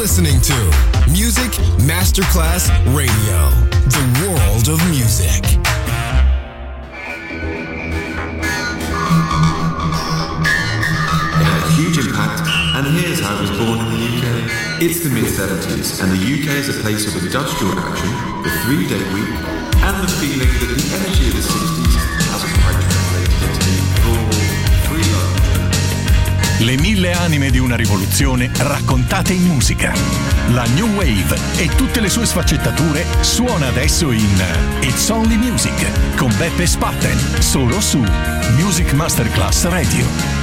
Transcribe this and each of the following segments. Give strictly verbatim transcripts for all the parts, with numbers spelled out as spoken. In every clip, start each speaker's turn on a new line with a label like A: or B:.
A: listening to Music Masterclass Radio, the world of music.
B: It had a huge impact, and here's how it was born in the U K. It's the mid seventies, and the U K is a place of industrial action, the three-day week, and the feeling that the energy of the sixties hasn't quite translated into full free love.
C: Le mille anime di una rivoluzione raccontate in musica. La New Wave e tutte le sue sfaccettature suona adesso in It's Only Music con Beppe Spatten, solo su Music Masterclass Radio.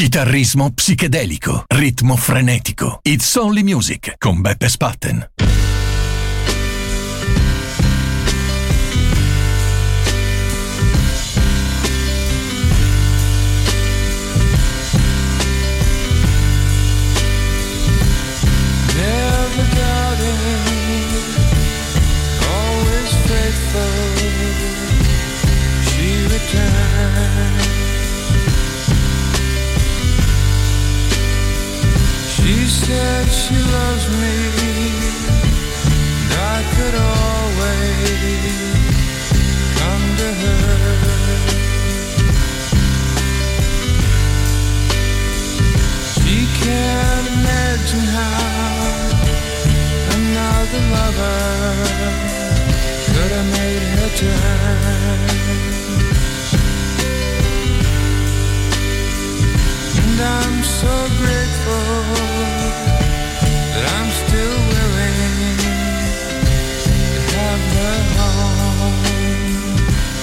C: Chitarrismo psichedelico, ritmo frenetico. It's Only Music con Beppe Spatten.
D: She said she loves me, and I could always come to her. She can't imagine how another lover could have made her turn. And I'm so grateful that I'm still willing to have her home.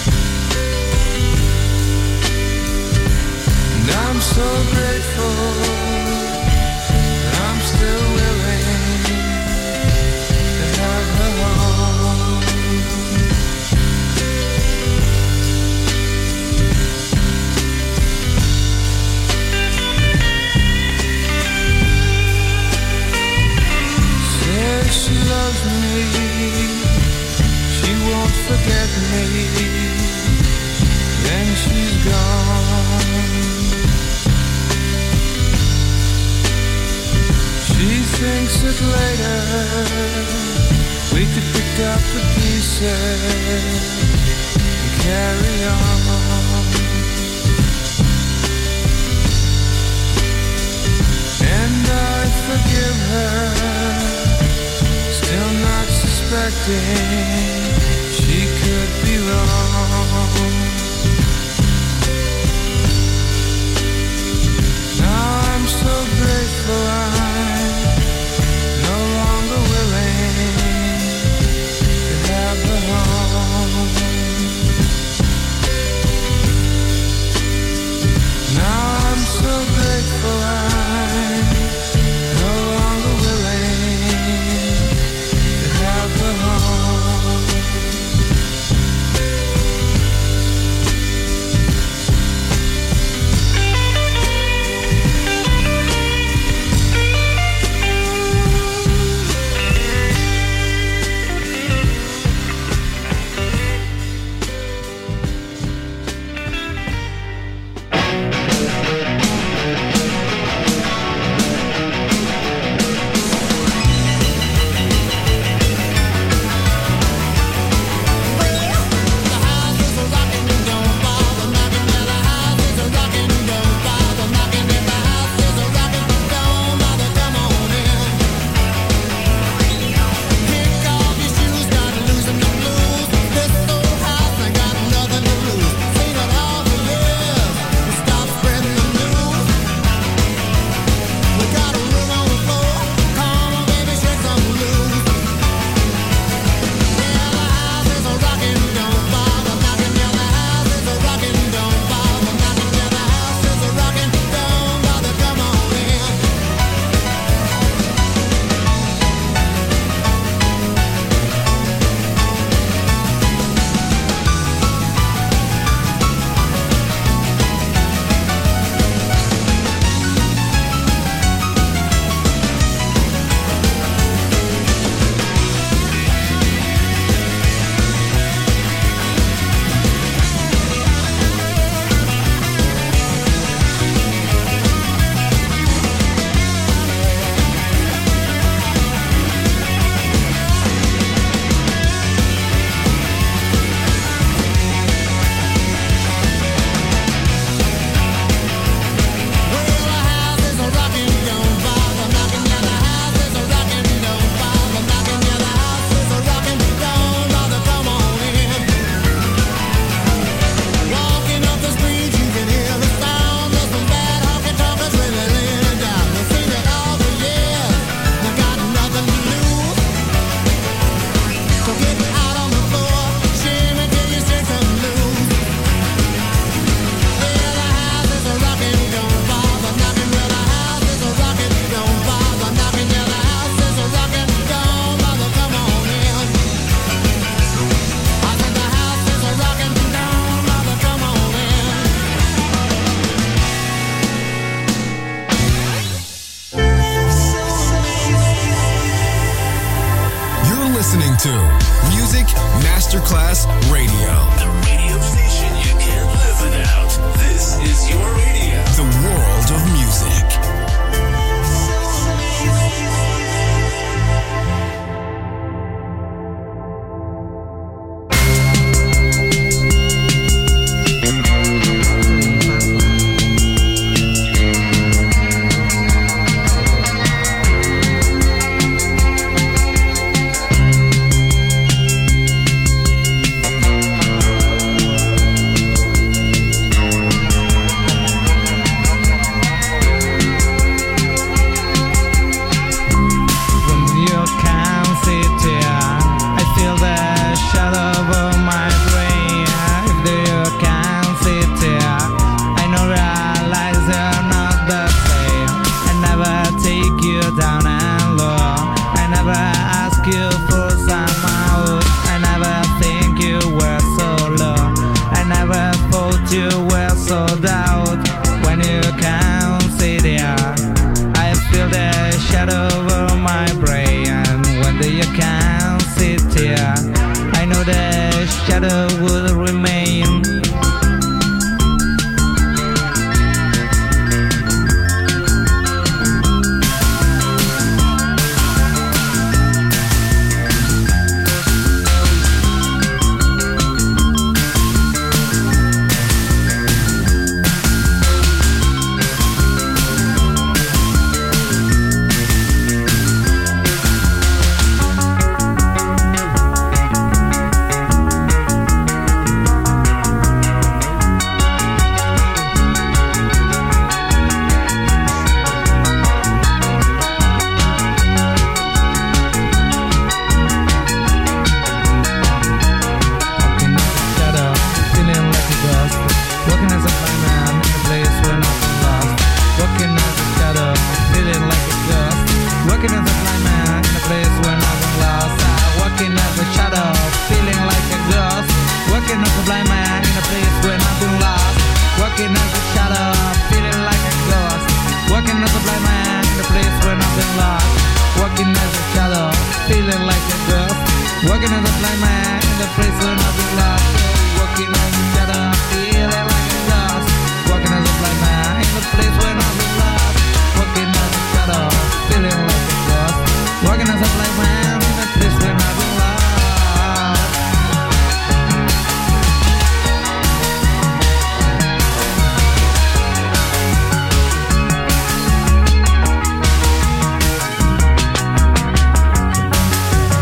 D: And I'm so grateful that I'm still willing to have her home. She loves me, she won't forget me, then she's gone. She thinks that later we could pick up the pieces and carry on. And I forgive her, still not suspecting she could be wrong. Now I'm so grateful I'm no longer willing to have her home. Now I'm so grateful I'm no longer willing to have her home.
A: Masterclass Radio.
E: The radio station you can't live without. This is your radio.
A: The world of music.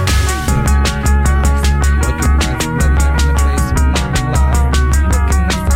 F: Working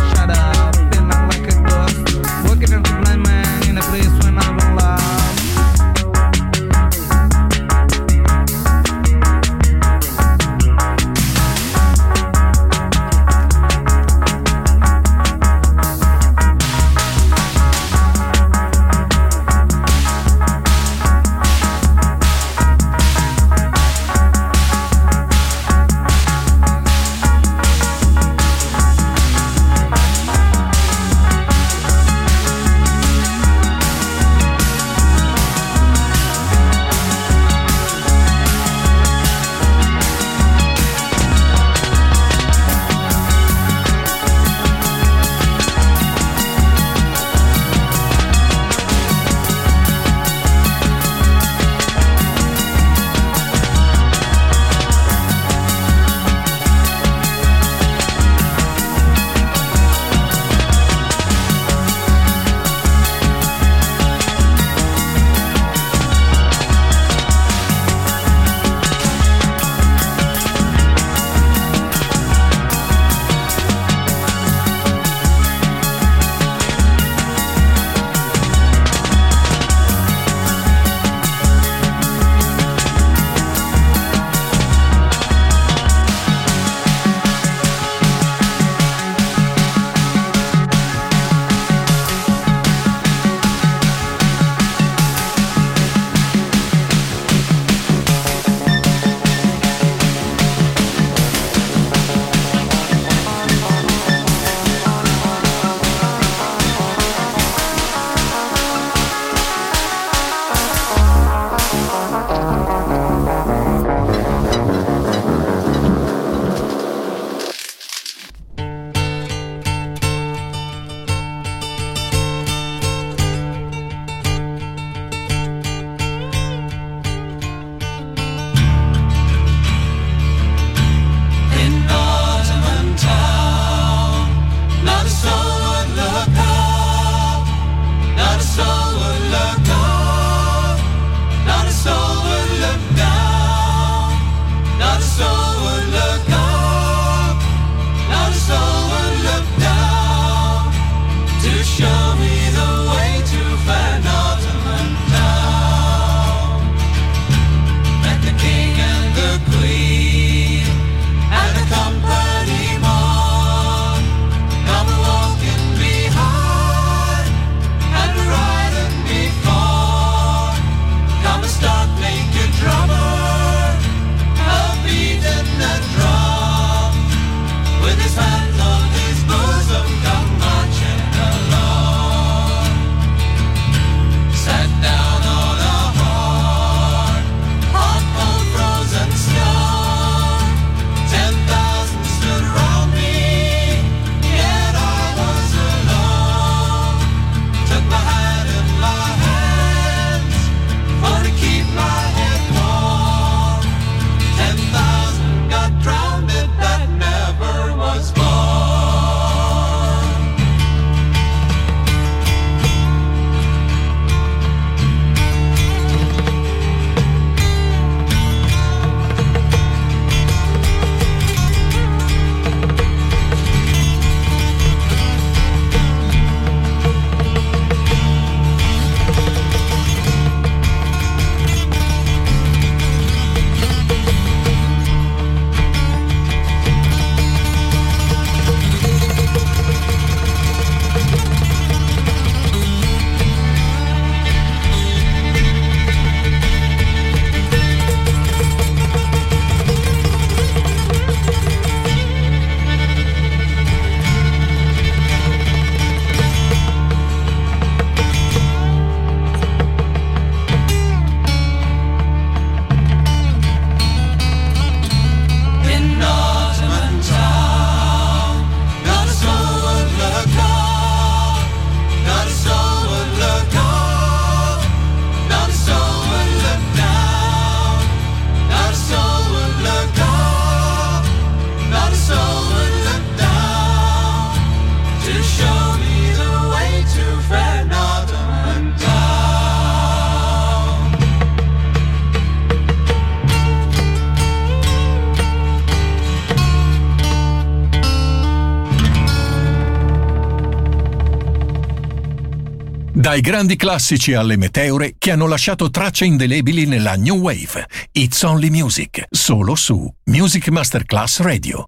C: Dai grandi classici alle meteore che hanno lasciato tracce indelebili nella New Wave. It's Only Music, solo su Music Masterclass Radio.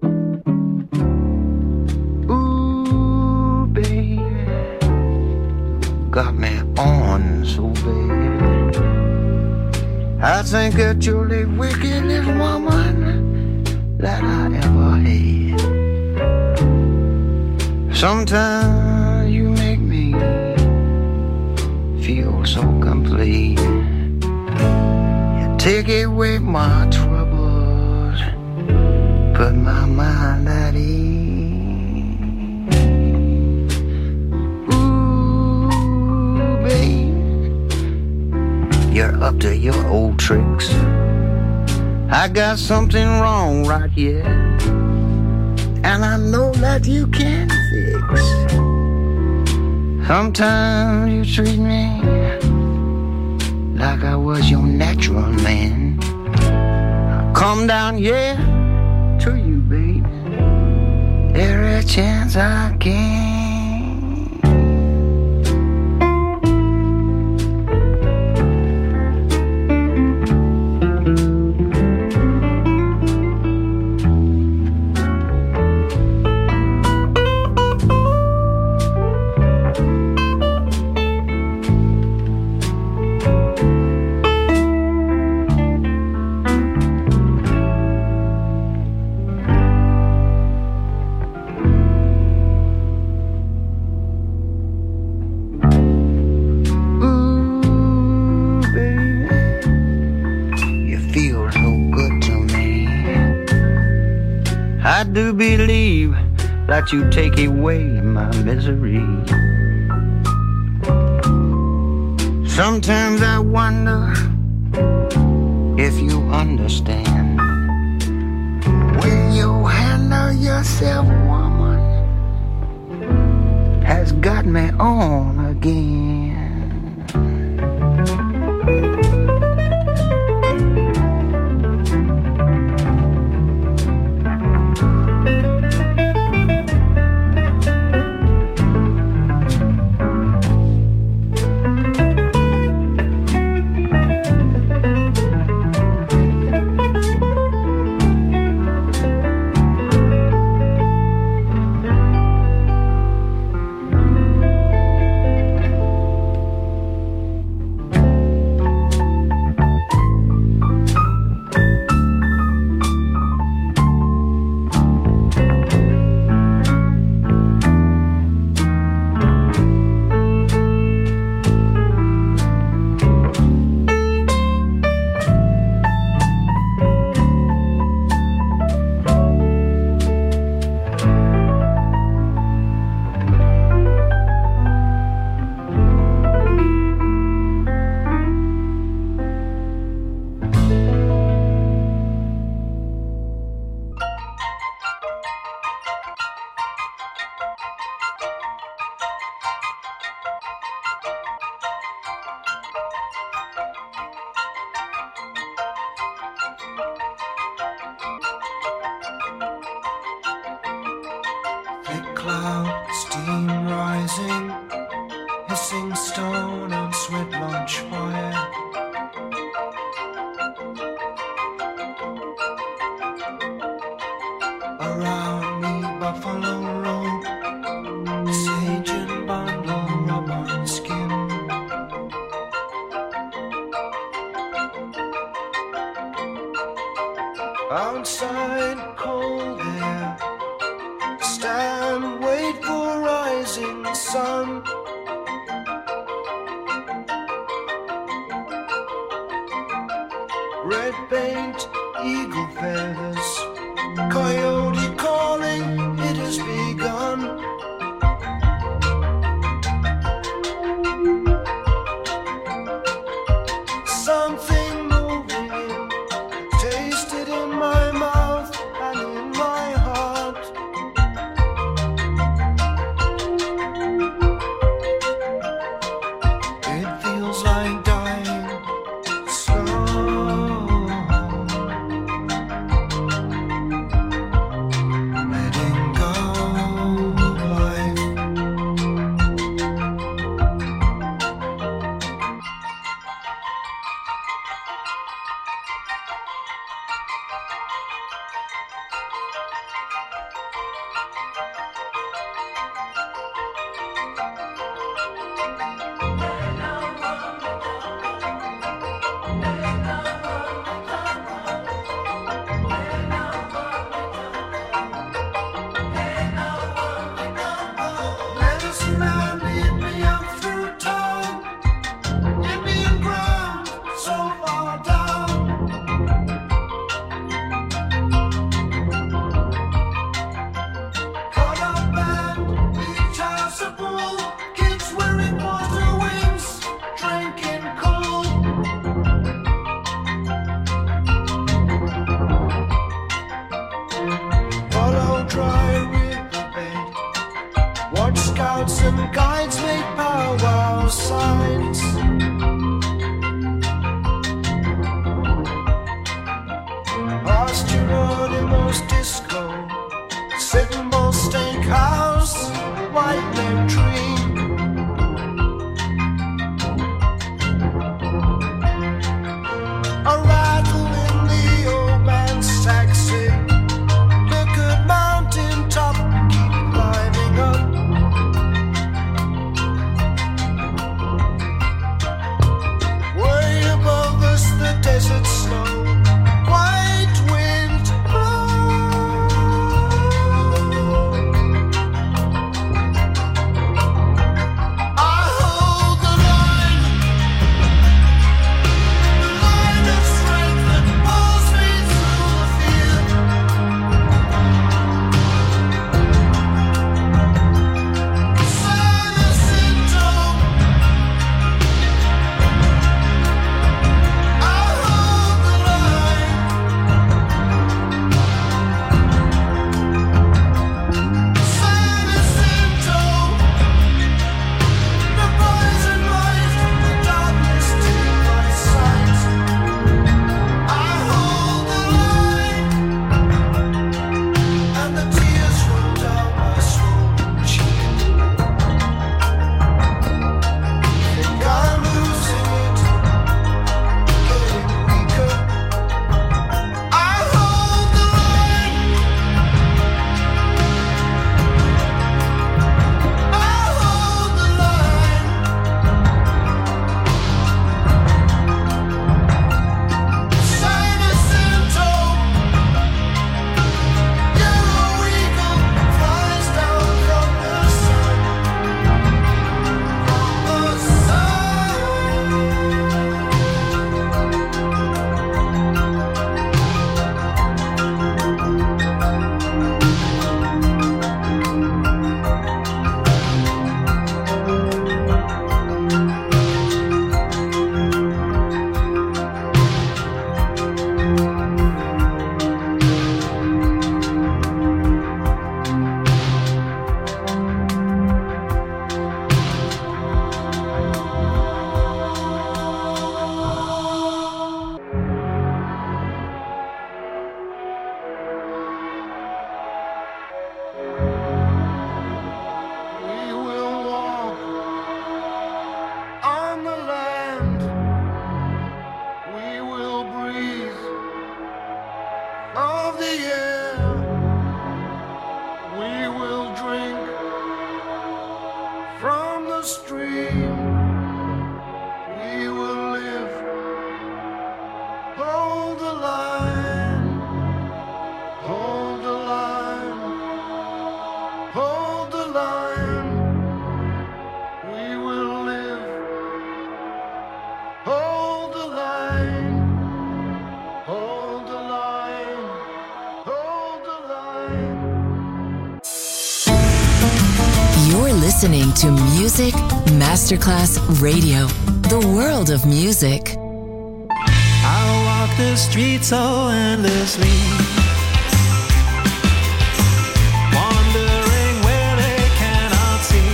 F: Ooh, baby, got me on so bad. I think that you're the wickedest woman that I ever had. Sometimes you make me feel so complete. You take away my troubles, put my mind at ease. Ooh, babe, you're up to your old tricks. I got something wrong right here, and I know that you can fix. Sometimes you treat me like I was your natural man. I come down, yeah, to you, baby, every chance I can. I do believe that you take away my misery. Sometimes I wonder if you understand. When you handle yourself, woman, has got me on again.
D: Outside, cold air. Stand, wait for rising sun. Red paint, eagle feathers. Coyote calling, it has begun. Something moving, taste it in my mouth and in my heart. It feels like dying slow. disco, Sitting Bull Steakhouse, White Neck Tree. A rattle in the old man's taxi. Look at mountain top, keep climbing up. Way above us the desert snow, white wind blows. I hold the line, the line of strength that pulls me through the fear. Silent symptom, I hold the line. Silent symptom, the poison light, the darkness to my sight. I hold the line, and the tears run down my swollen cheek. Think I'm losing it, getting weaker. I hold the line, I hold the line. Sinus symptom, yellow eagle flies down from the sun, from the sun. We will walk on the land. We will breathe of the air. We will drink from the stream. We will live. Hold the line. Hold the line. Hold the line. We will live. Hold the line. Hold the line. Hold the line.
G: You're listening to Music Masterclass Radio, the world of music.
H: I'll walk the streets so endlessly, wandering where they cannot see.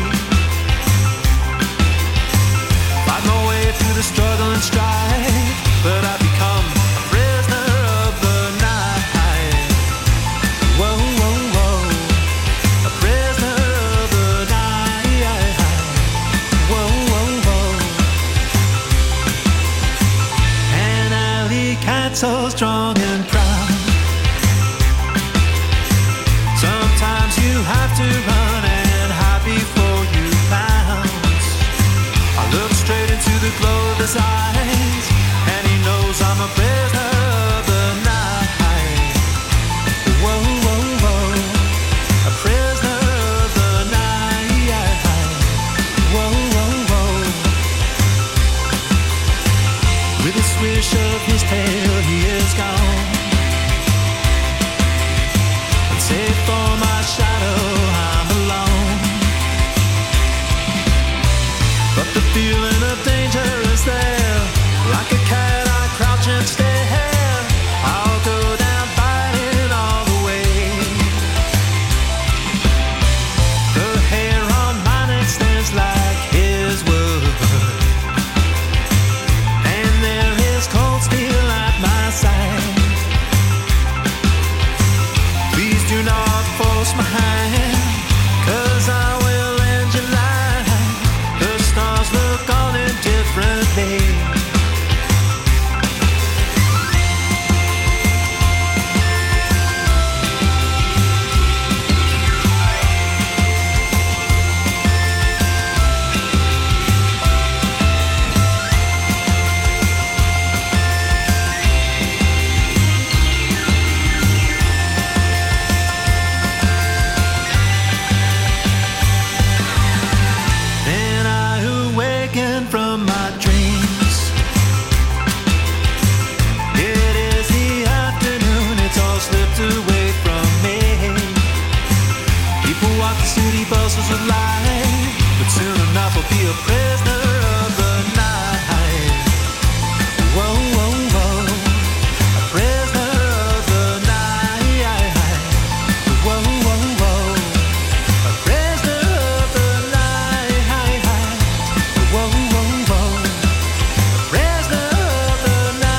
H: Fight my way through the struggle and strife, but I become a prisoner of the night. Whoa, whoa, whoa, a prisoner of the night. Whoa, whoa, whoa, an alley cat so strong and proud. Sometimes you have to run and hide before you pounce. I look straight into the glow of his eyes, and he knows I'm a prisoner of the night. Whoa, whoa, whoa, a prisoner of the night. Whoa, whoa, whoa. With a swish of his tail, he is gone. And save for my shadow, I'm alone. But the feeling of danger is there. Like a cat, I crouch and stare. I'll go down fighting all the way. The hair on my neck stands like his wood, and there is cold steel at my side. We kiss my hand, 'cause I will end your life. The stars look on it differently. Buzzes with life, but soon enough I'll be a prisoner of the night. Whoa, whoa, whoa, a prisoner of the night. Whoa, whoa, whoa, a prisoner of the night. Whoa, whoa, whoa, a prisoner of the night.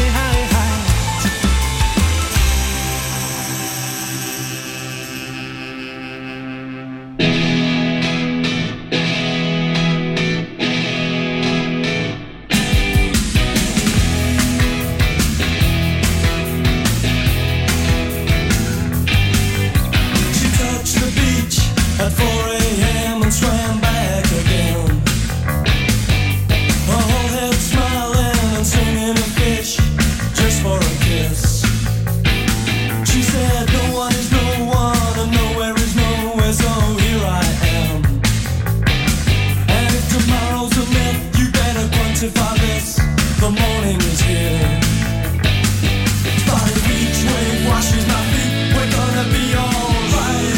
I: At four a.m. and swam back again. Her whole head smiling and singing a fish just for a kiss. She said no one is no one and nowhere is nowhere, so here I am. And if tomorrow's a myth, you better quantify this. The morning is here. Body beach wave washes my feet. We're gonna be alright.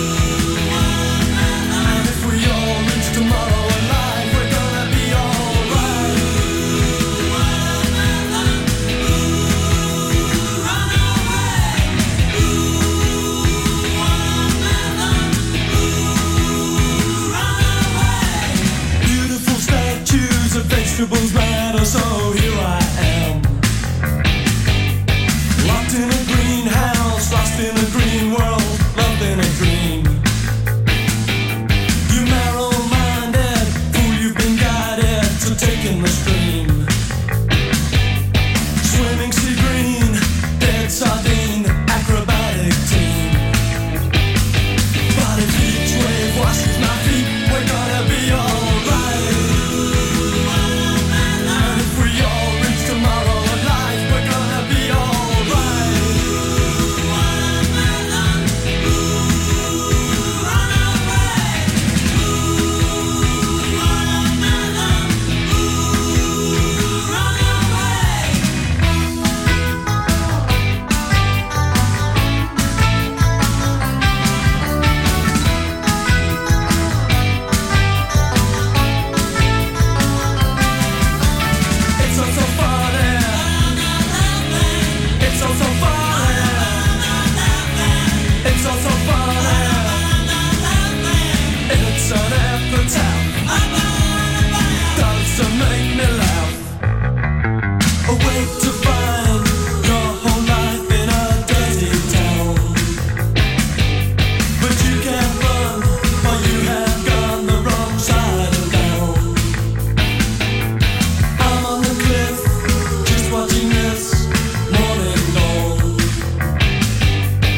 I: Tomorrow alive, we're gonna be alright. Run away. Run away. Beautiful statues of vegetables matter, so here I am. Locked in a greenhouse, lost in a green world, loved in a dream. You marrow taking the stream, swimming sea green, dead sardine, acrobatic team. Body beach wave washes my feet. We're gonna be alright. And if we all reach tomorrow alive, we're gonna be alright.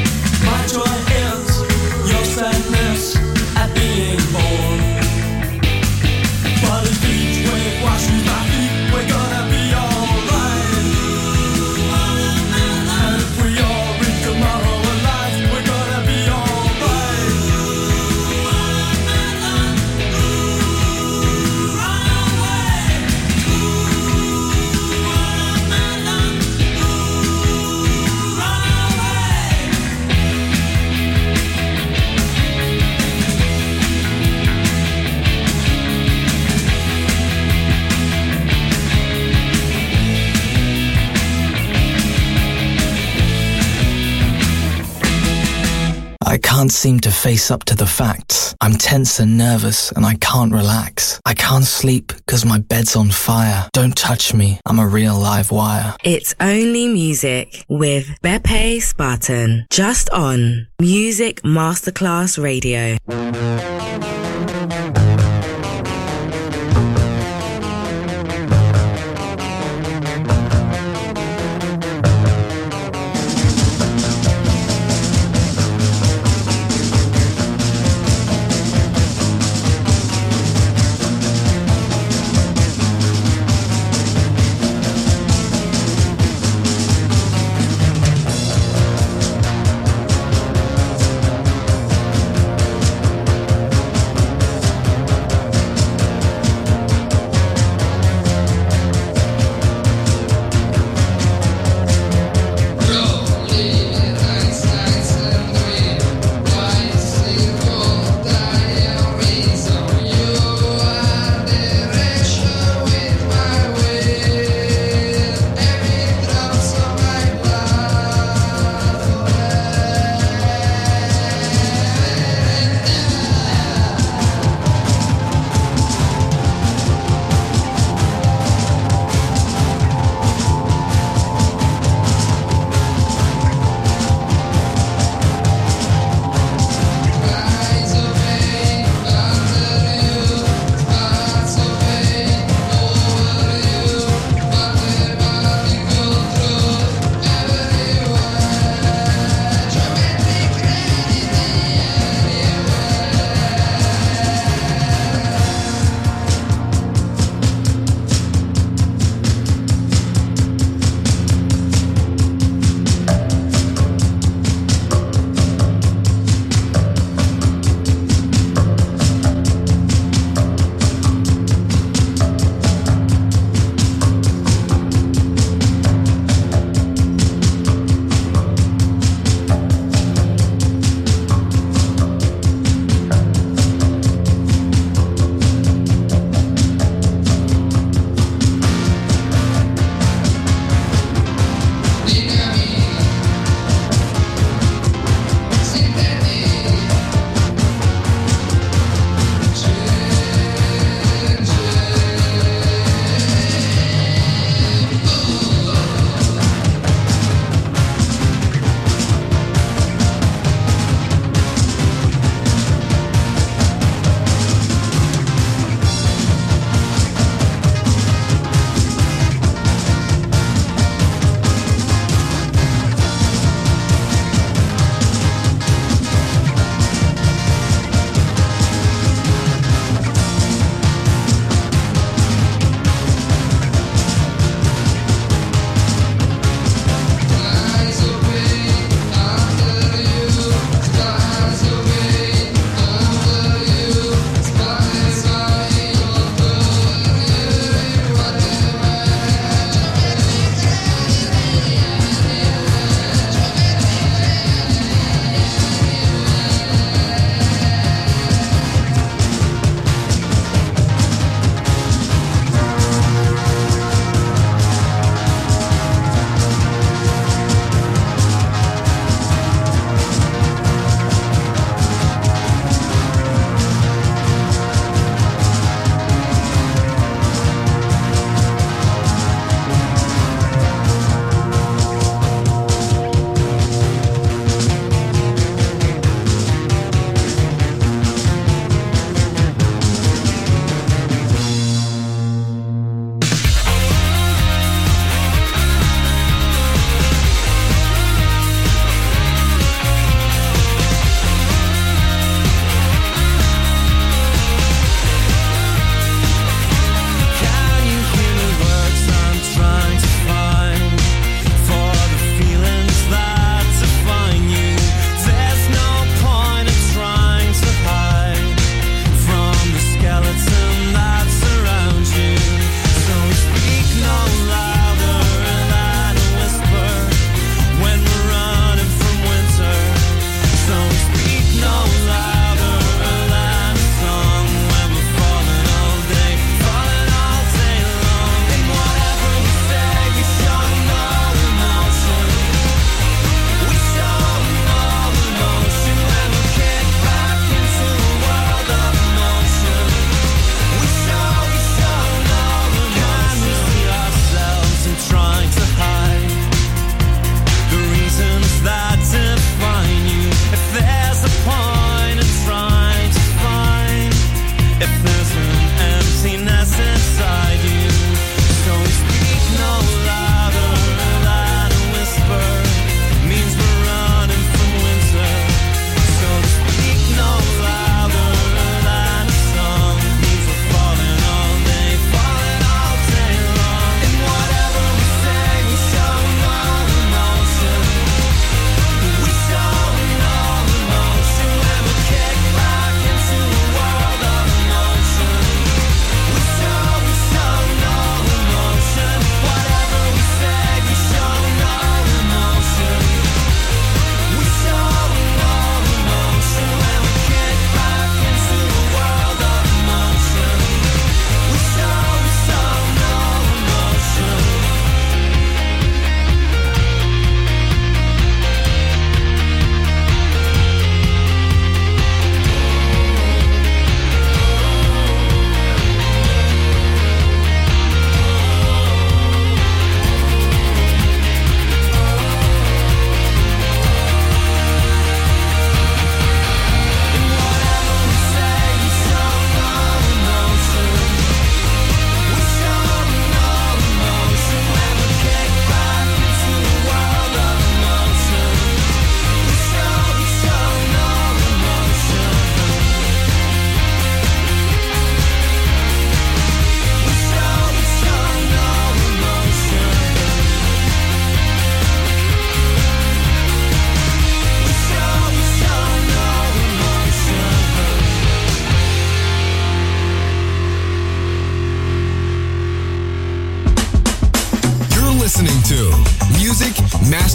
I: Joy is your sadness at being born.
J: can't seem to face up to the facts. I'm tense and nervous and I can't relax. I can't sleep because my bed's on fire. Don't touch me, I'm a real live wire.
K: It's Only Music with Beppe Spartan, just on Music Masterclass Radio.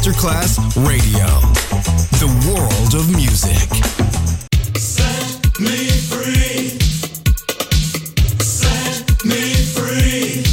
A: Masterclass Radio. The world of music.
I: Set me free. Set me free.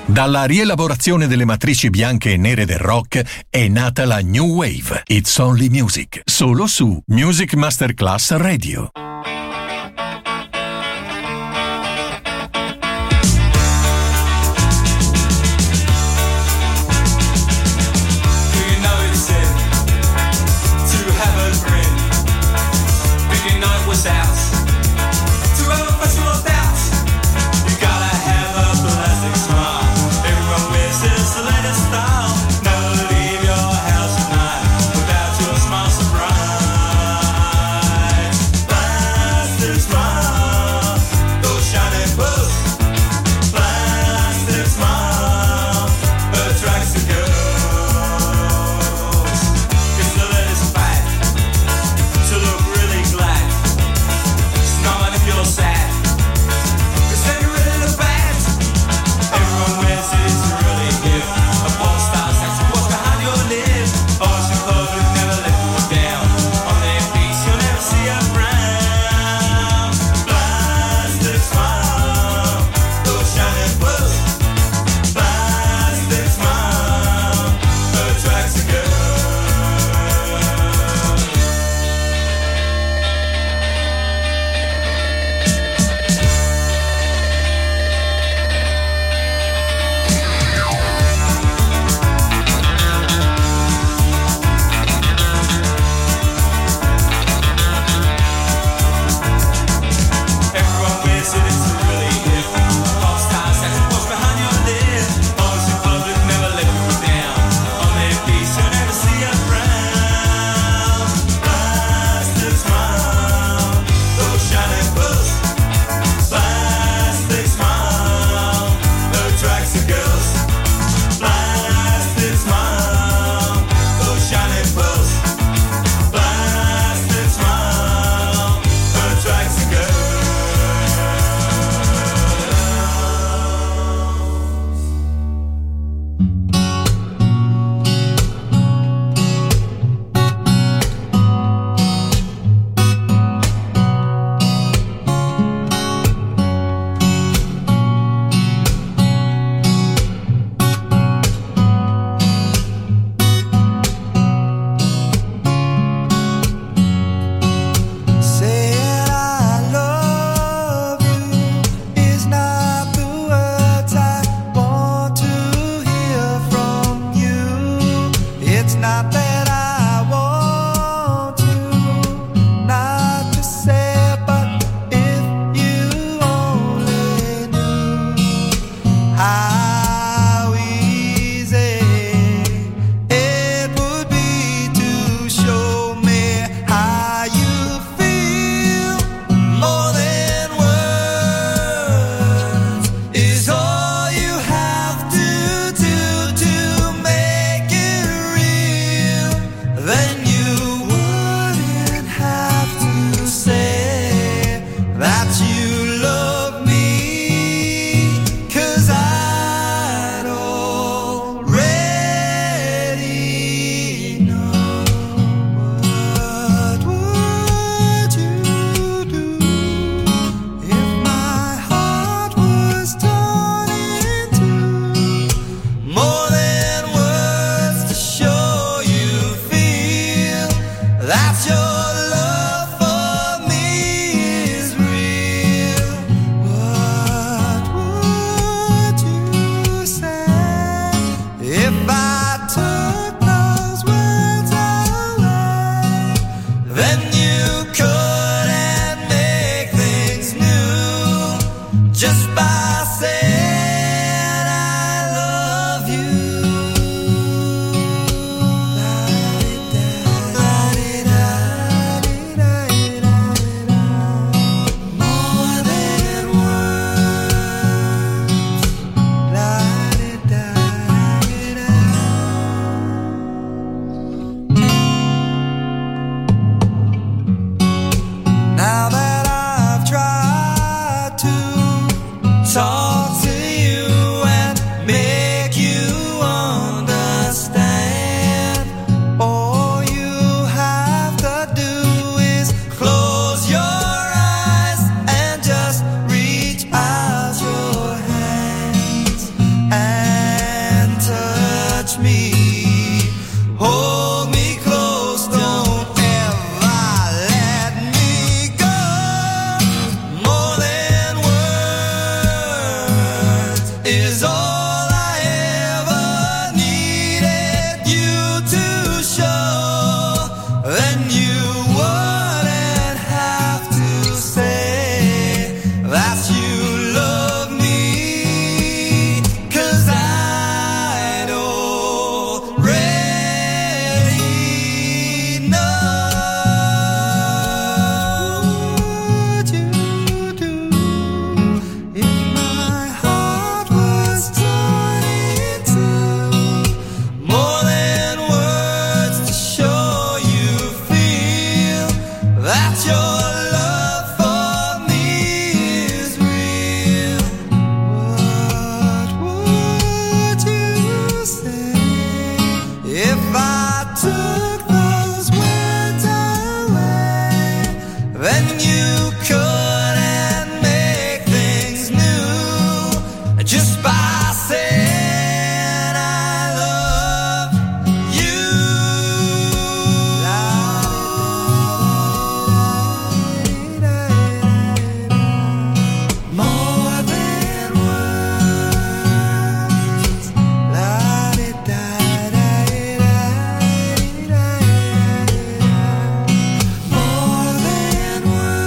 C: Dalla rielaborazione delle matrici bianche e nere del rock è nata la New Wave. It's Only Music, solo su Music Masterclass Radio.
I: Bye. couldn't make things new just by saying I love you. More than words. More than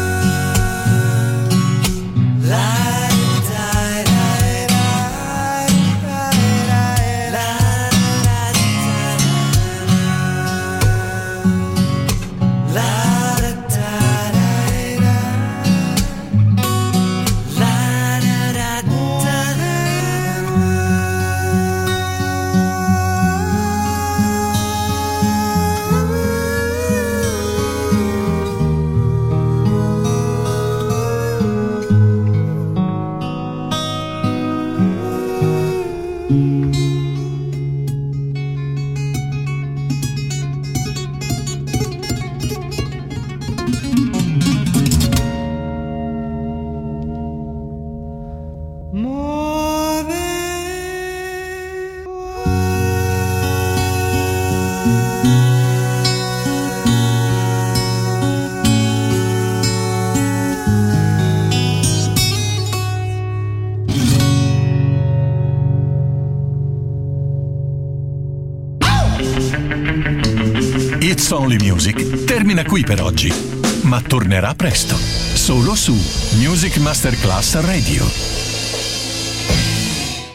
C: It's Only Music termina qui per oggi, ma tornerà presto, solo su Music Masterclass Radio.